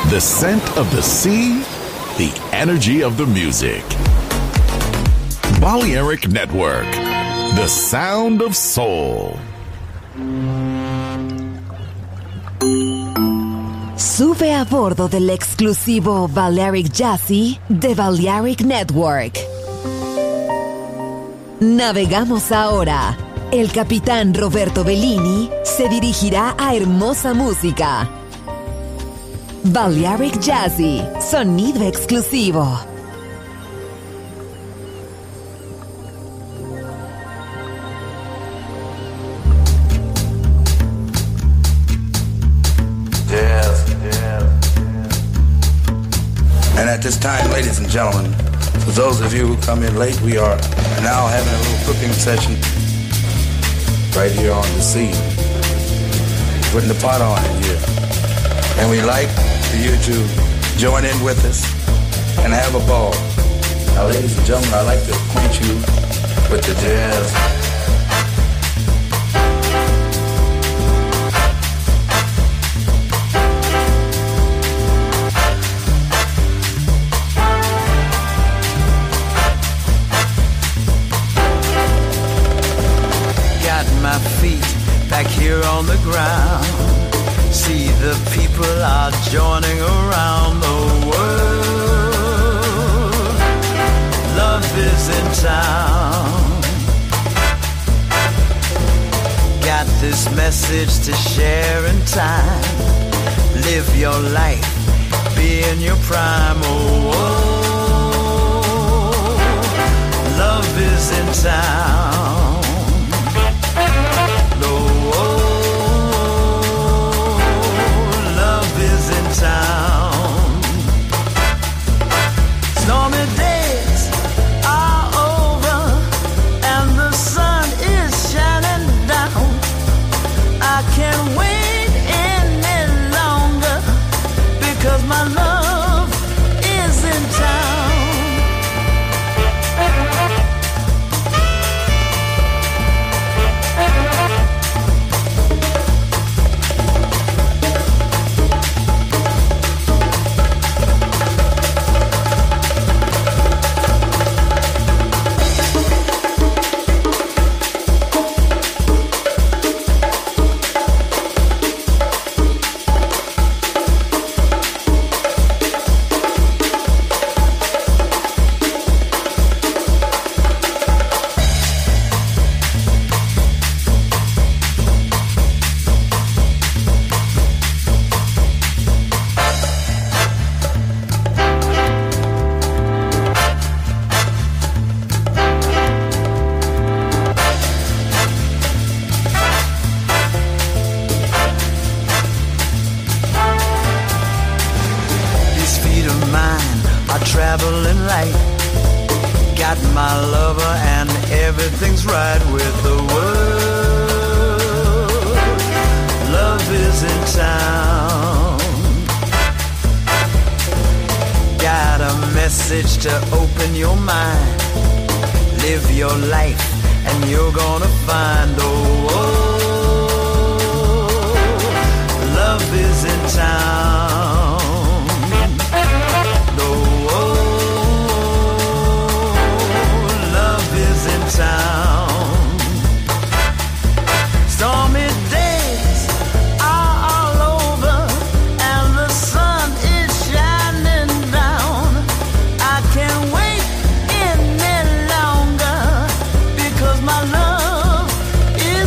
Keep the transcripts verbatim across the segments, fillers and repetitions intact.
The scent of the sea, the energy of the music. Balearic Network, the sound of soul. Sube a bordo del exclusivo Balearic Jazzy de Balearic Network. Navegamos ahora. El capitán Roberto Bellini se dirigirá a hermosa música. Balearic Jazzy, sonido exclusivo. And at this time, ladies and gentlemen, for those of you who come in late, we are now having a little cooking session right here on the scene. Putting the pot on in here. And we like for you to join in with us and have a ball. Now, ladies and gentlemen, I'd like to acquaint you with the jazz. My feet back here on the ground. See the people are joining around the world. Love is in town. Got this message to share in time. Live your life, be in your prime. Oh, oh. Love is in town. Town. Stormy days are over and the sun is shining down. I can't wait any longer because my love is in town. To open your mind, live your life, and you're gonna find oh, oh love is in town. Oh, oh love is in town. Stormy days are all over, and the sun is shining down. I can't wait any longer because my love is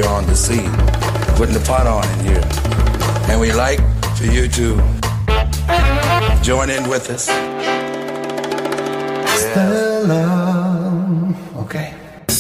here on the scene, putting the pot on in here. And we like for you to join in with us. Stella. Okay.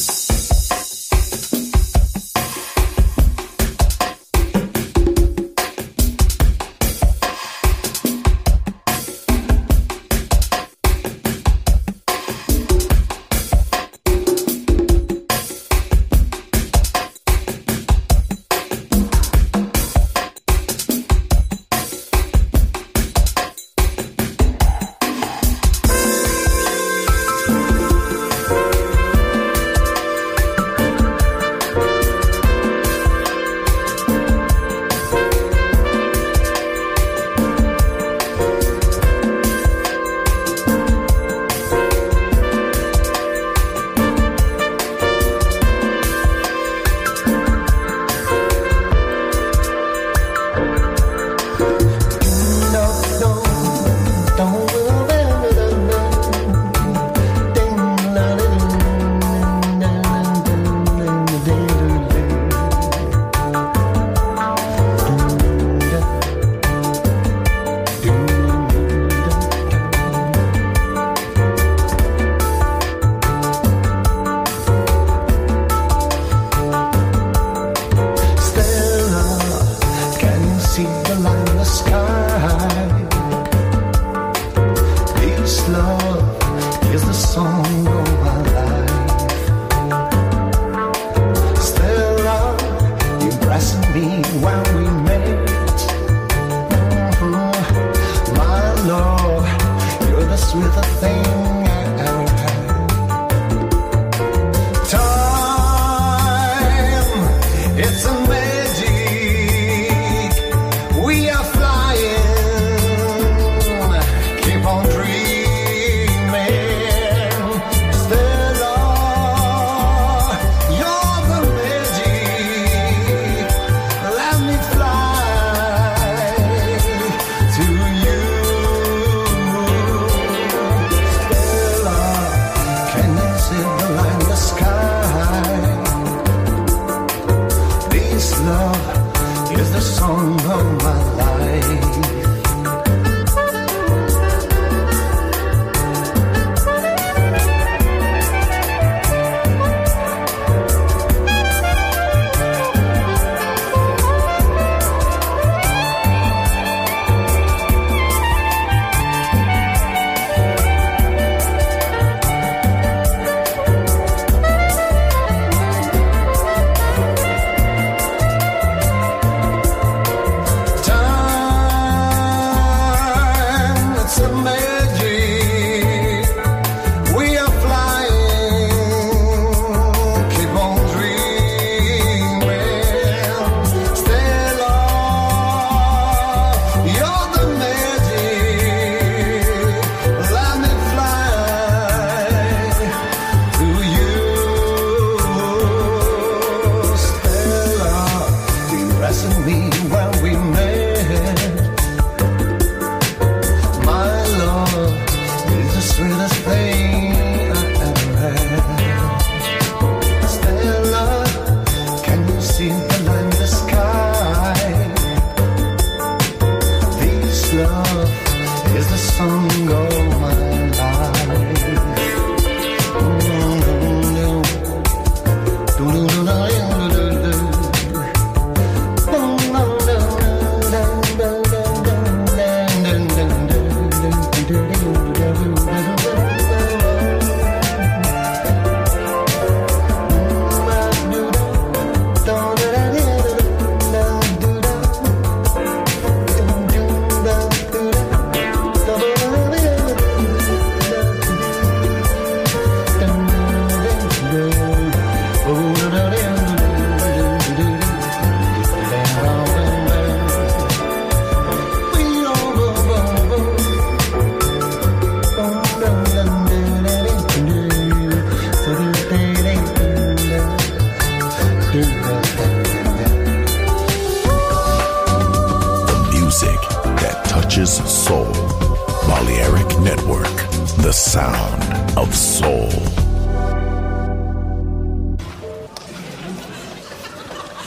Soul. Balearic Network, the sound of soul.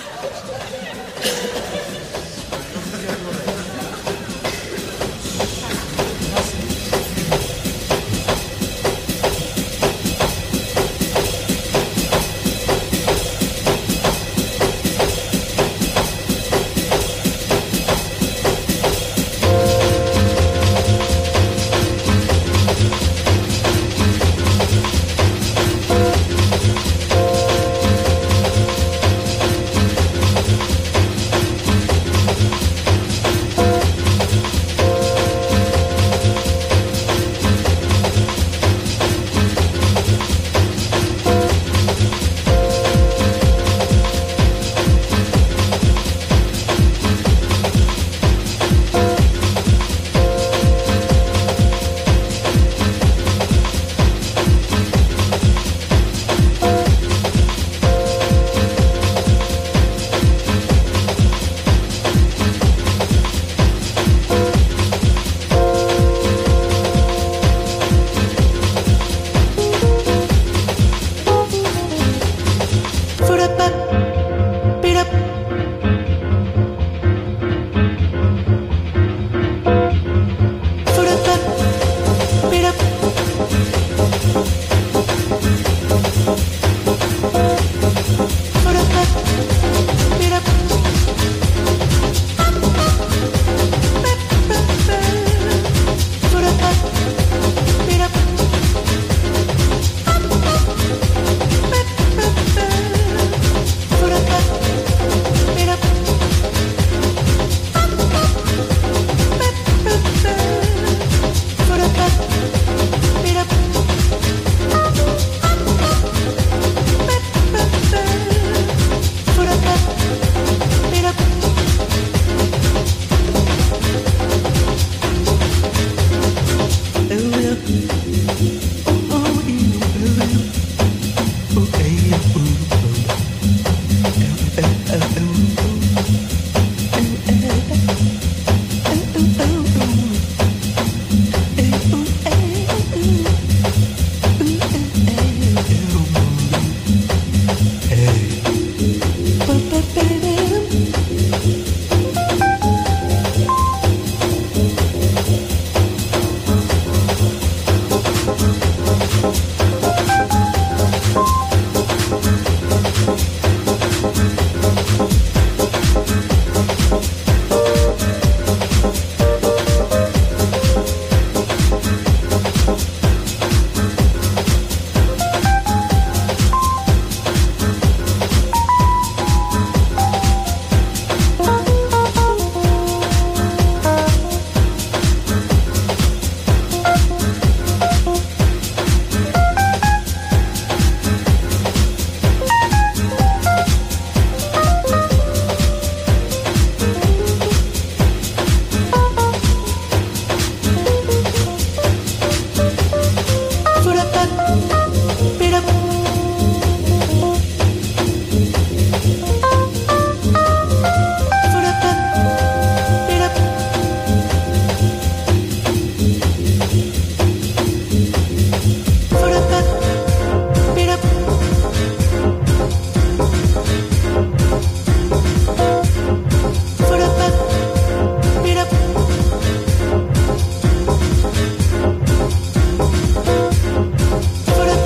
For the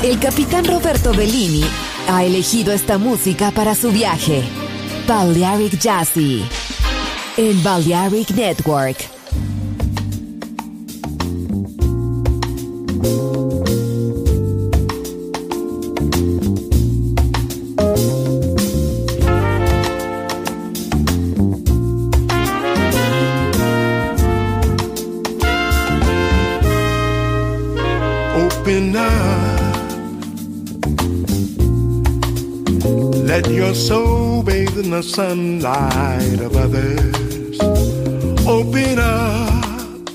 El capitán Roberto Bellini ha elegido esta música para su viaje. Balearic Jazzy en Balearic Network. Open up, let your soul bathe in the sunlight of others. Open up,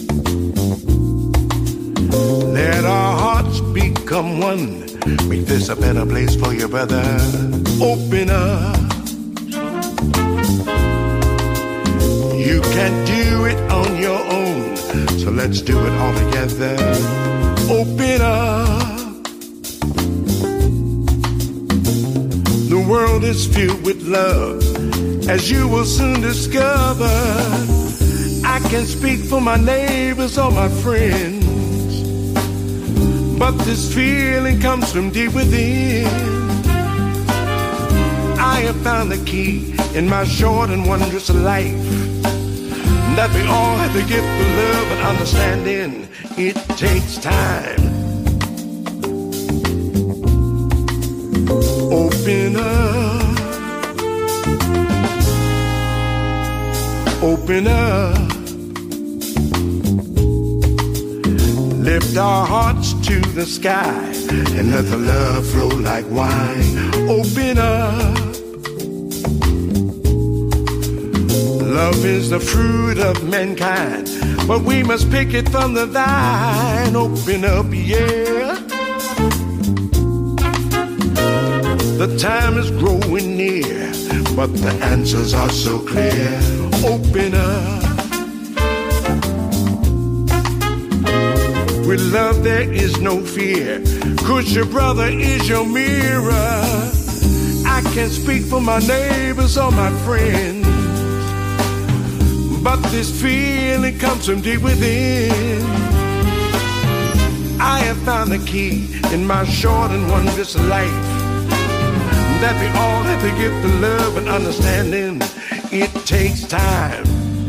let our hearts become one. Make this a better place for your brother. Open up, you can't do it on your own, so let's do it all together. Open up. The world is filled with love, as you will soon discover. I can speak for my neighbors or my friends, but this feeling comes from deep within. I have found the key in my short and wondrous life, that we all have the gift of love and understanding. It takes time. Open up. Open up. Lift our hearts to the sky and let the love flow like wine. Open up. Love is the fruit of mankind, but we must pick it from the vine. Open up, yeah. The time is growing near, but the answers are so clear. Open up. With love there is no fear, 'cause your brother is your mirror. I can't speak for my neighbors or my friends, but this feeling comes from deep within. I have found the key in my short and wondrous life, that we all have to give the love and understanding. It takes time.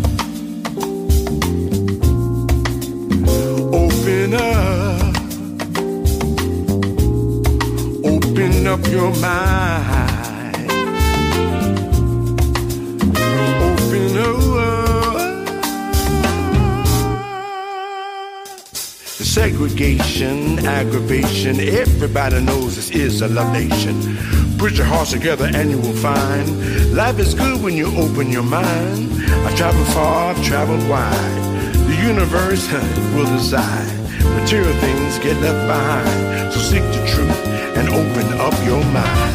Open up. Open up your mind. Open up. Segregation, aggravation, everybody knows this is a love nation. Put your hearts together and you will find life is good when you open your mind. I've traveled far, I've traveled wide. The universe will decide. Material things get left behind. So seek the truth and open up your mind.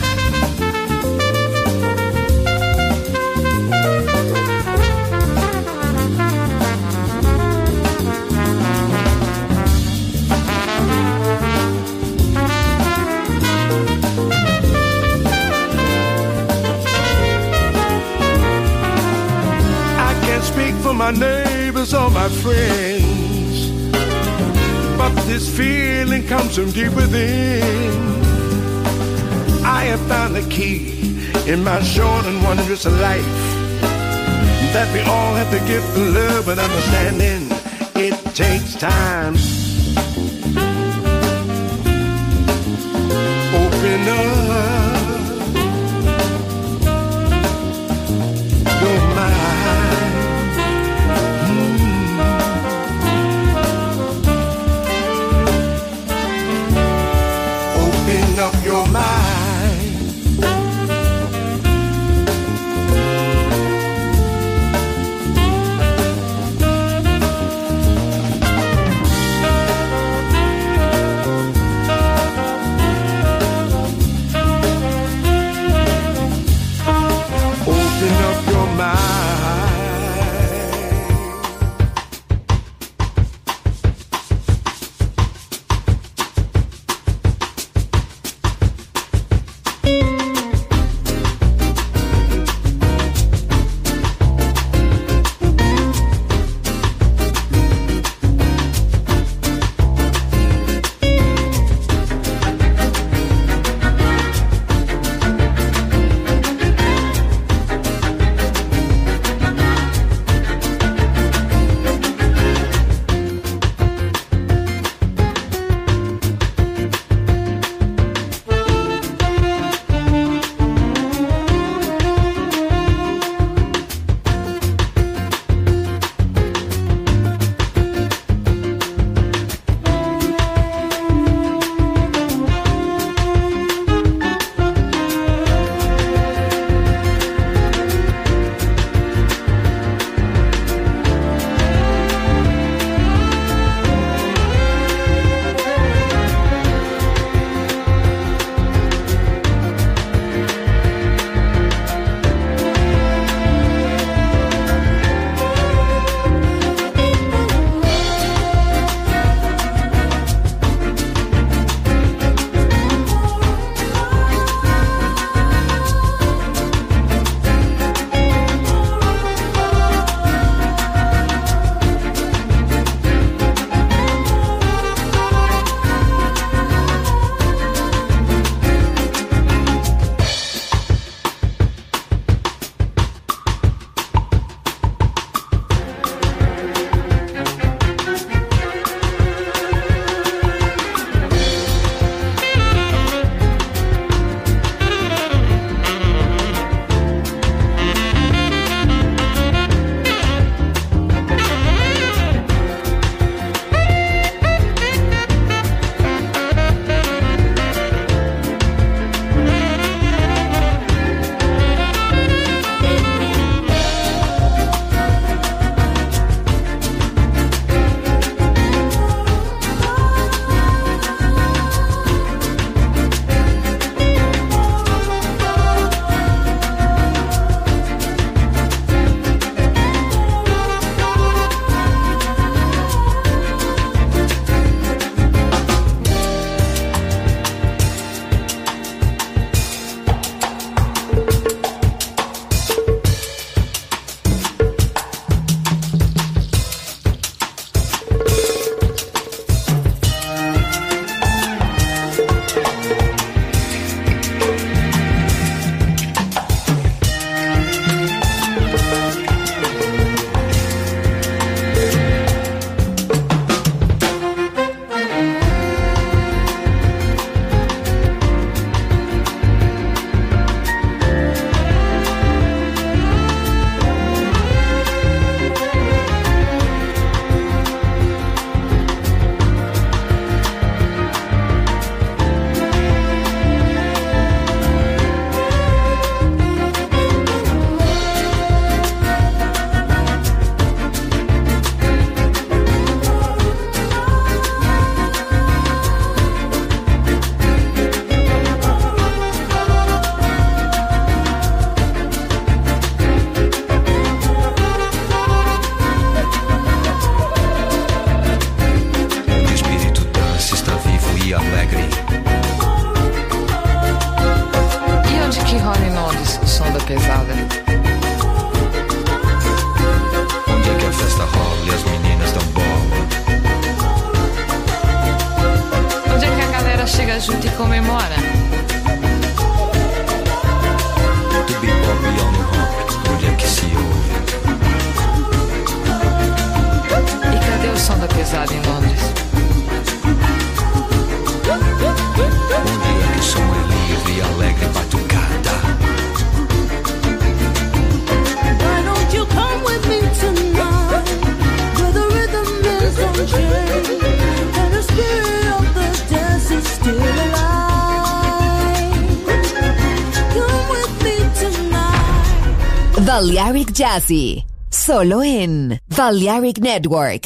My neighbors or my friends, but this feeling comes from deep within. I have found the key in my short and wondrous life, that we all have to give the love and understanding. It takes time. Open up your mind. Up your mind. Open up your mind. tutti come Moana. Tu bi popi on rock, mulher que se ouve. E cadê o som da pesada em Londres? Um dia que o som é livre e alegre batucada. Why don't you come with me tonight, where the rhythm is unchained, and the spirit of the dance is still alive. Come with me tonight. Balearic Jazzy, solo en Balearic Network.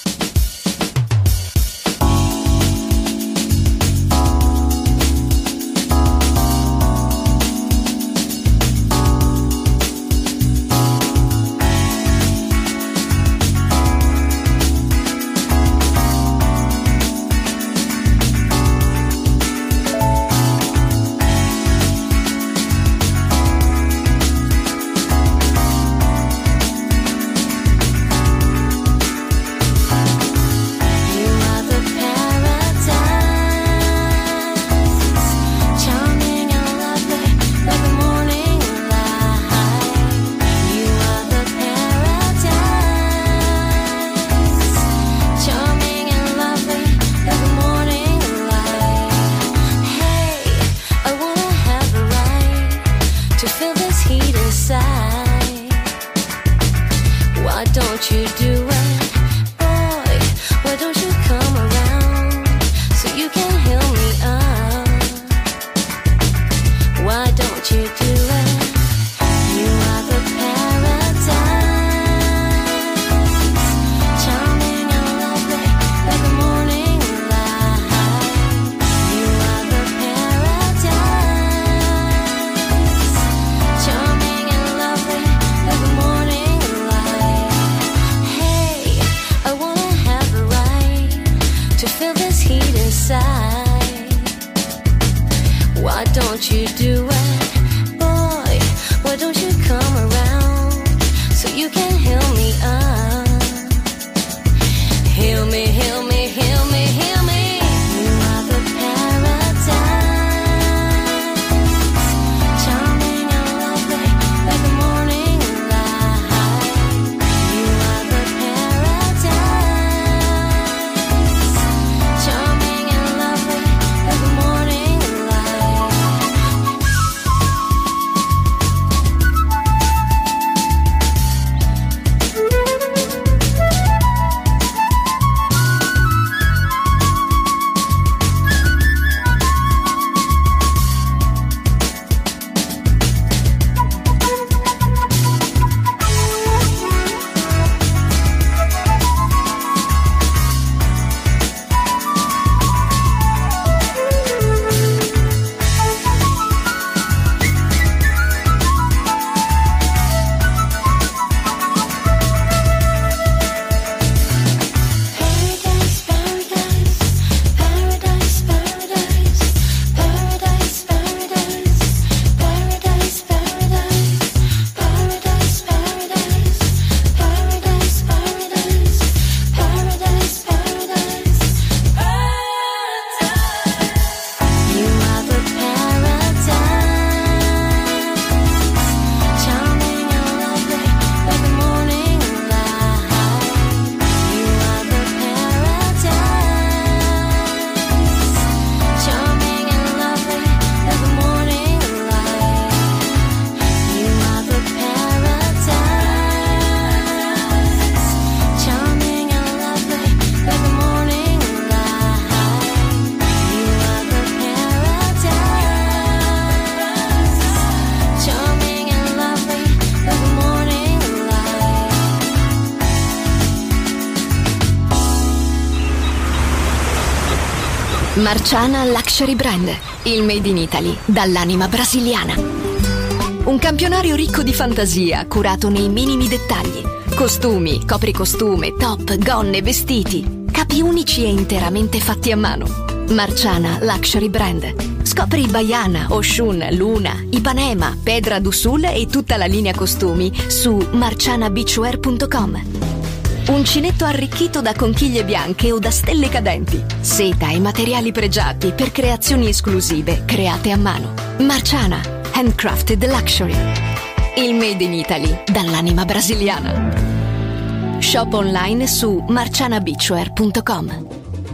Marciana Luxury Brand, il made in Italy dall'anima brasiliana. Un campionario ricco di fantasia, curato nei minimi dettagli. Costumi, copricostume, top, gonne, vestiti. Capi unici e interamente fatti a mano. Marciana Luxury Brand. Scopri Baiana, Oshun, Luna, Ipanema, Pedra do Sul e tutta la linea costumi su marciana beachwear punto com. Uncinetto arricchito da conchiglie bianche o da stelle cadenti. Seta e materiali pregiati per creazioni esclusive create a mano. Marciana, handcrafted luxury. Il made in Italy dall'anima brasiliana. Shop online su marciana beachwear punto com.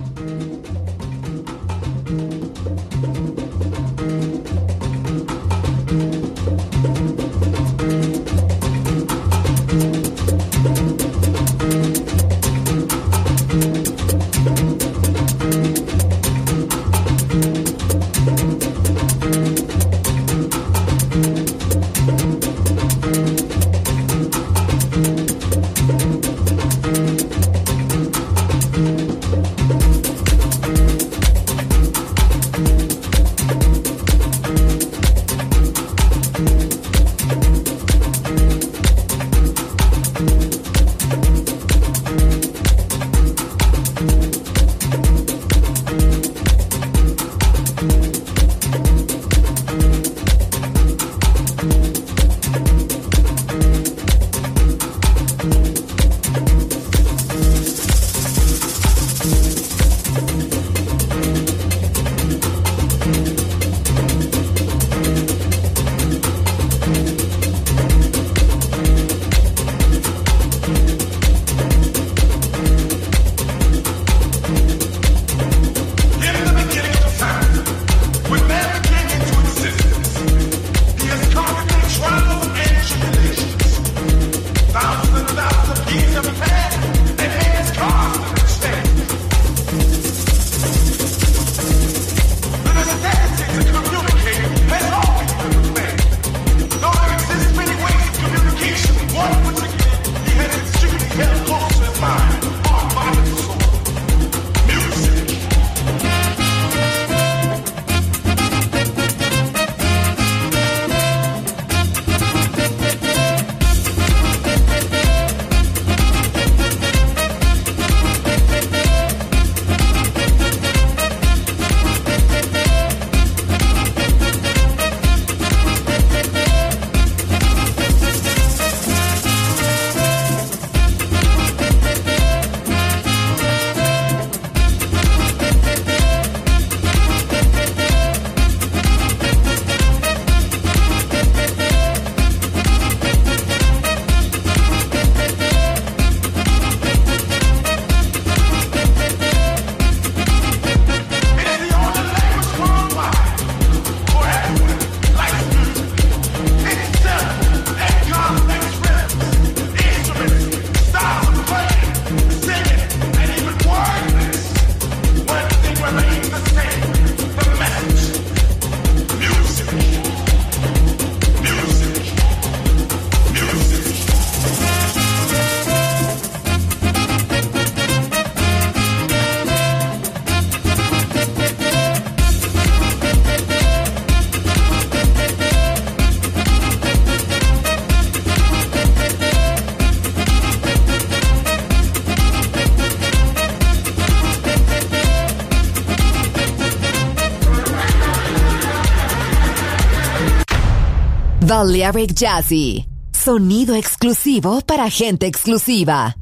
Balearic Jazzy, sonido exclusivo para gente exclusiva.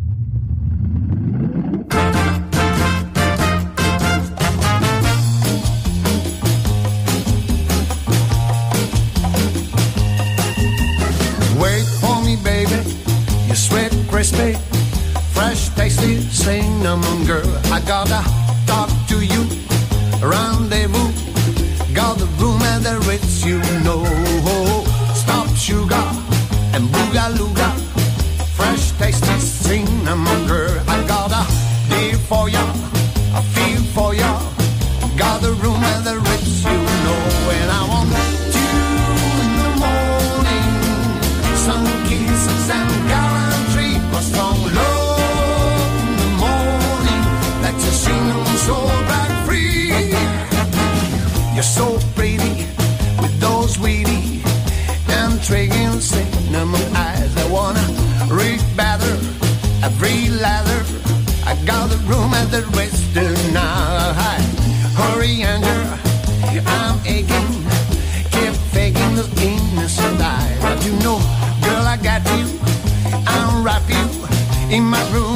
Wait for me, baby, you sweet, crispy, fresh, tasty, cinnamon girl. I gotta talk to you, rendezvous, got the room at the Ritz, you know. Stop sugar and boogalooga, fresh, tasty, cinnamon girl. I got a deal for ya, a feel for ya, got the room at the Ritz, you know. And I want you in the morning, some kisses and gallantry, a strong love in the morning, let your cinnamon soul back free. You're so pretty with those weedy and intriguing cinnamon eyes. I wanna read better every letter. I got the room at the Ritz tonight. Hurry, Andrew, I'm aching. Keep faking the innocent eyes. But you know, girl, I got you. I'll wrap you in my room.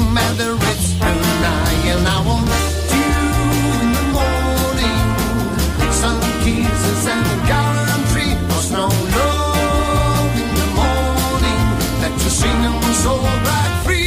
kisses and a gallantry. There's no love in the morning that you sing them so right free.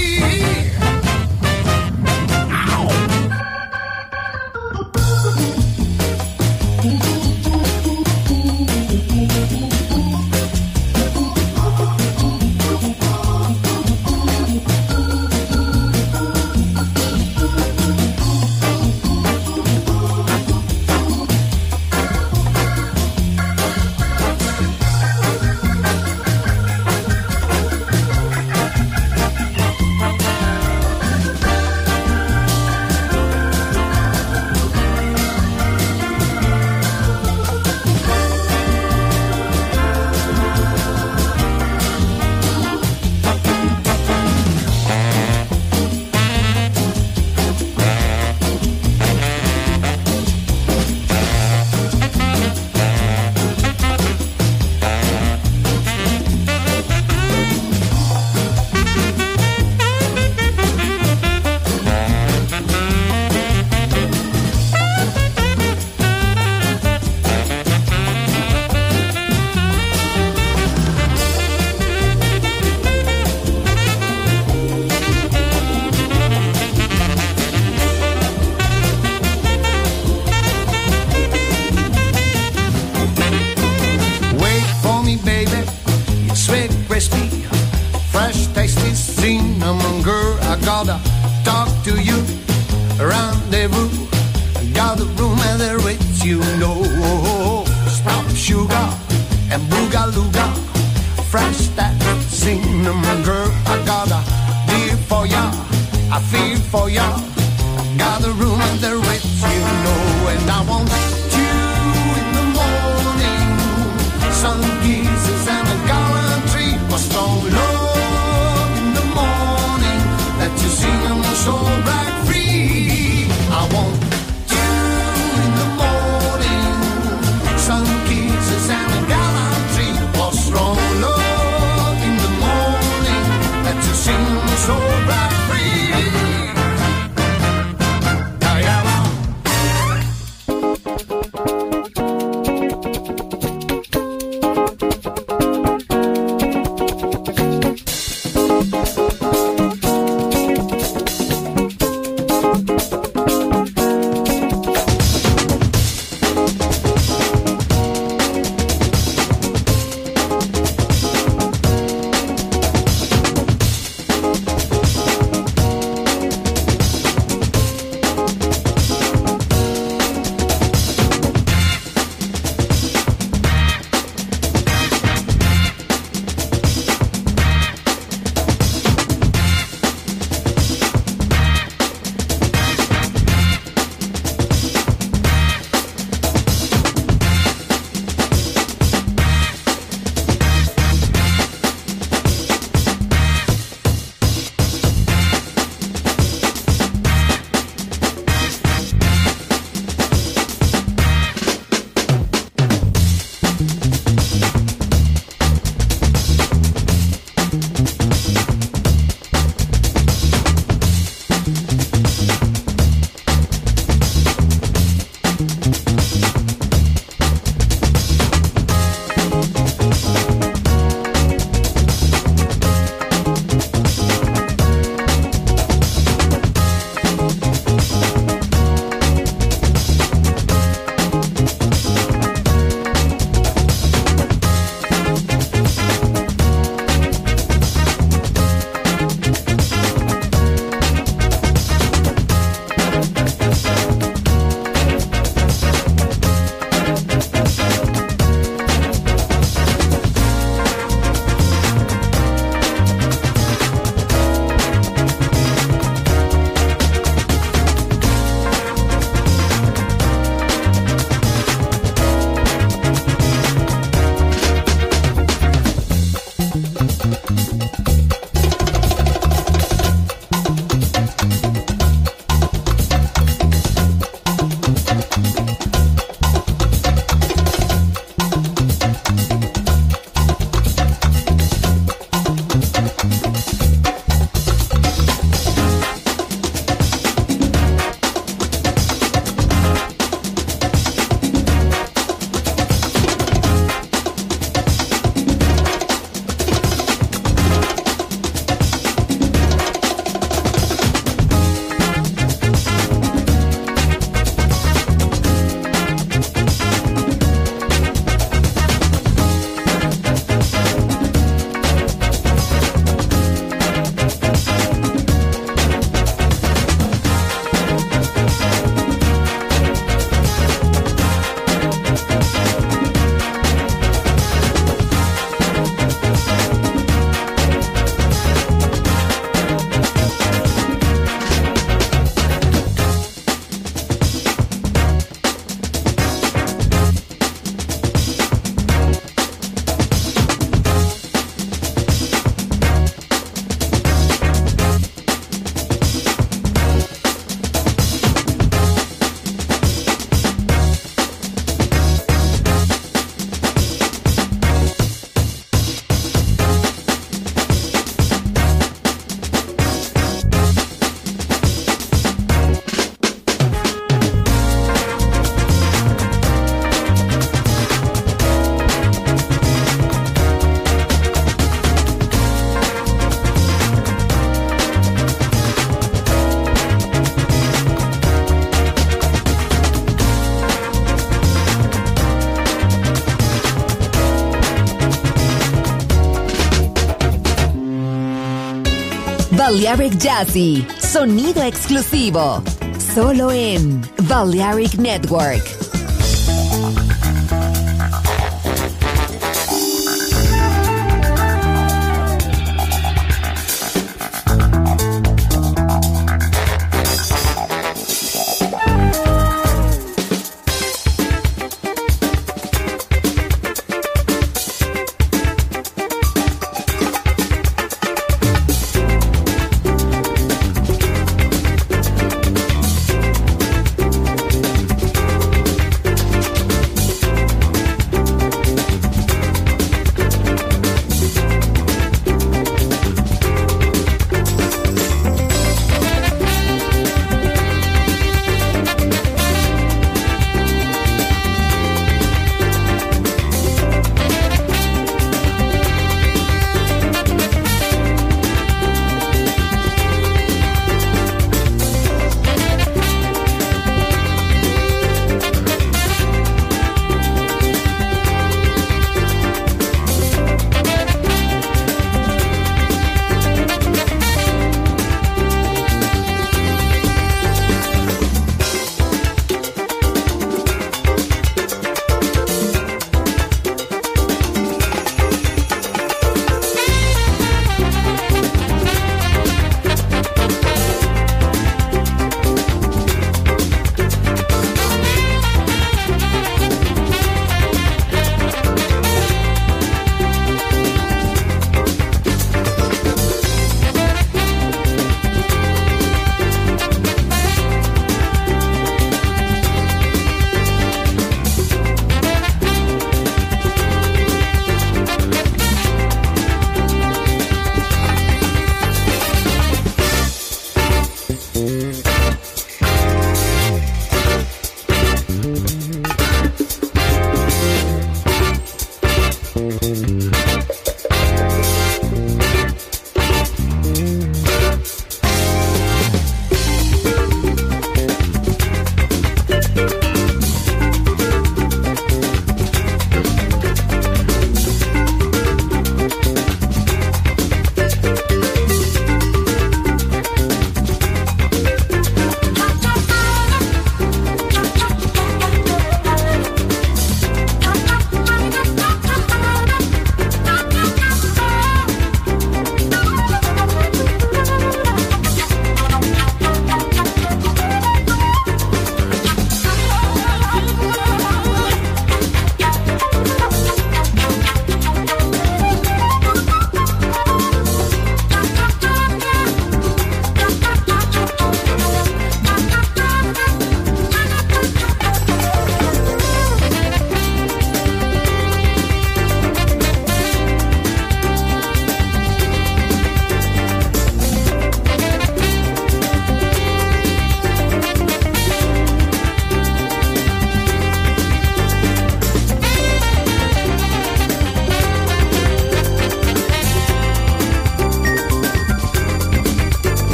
Balearic Jazzy, sonido exclusivo, solo en Balearic Network.